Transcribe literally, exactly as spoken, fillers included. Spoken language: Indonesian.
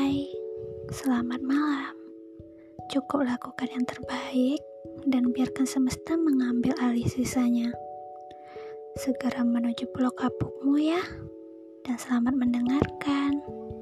Hai, selamat malam. Cukup lakukan yang terbaik dan biarkan semesta mengambil alih sisanya. Segera menuju pulau kapukmu ya, dan selamat mendengarkan.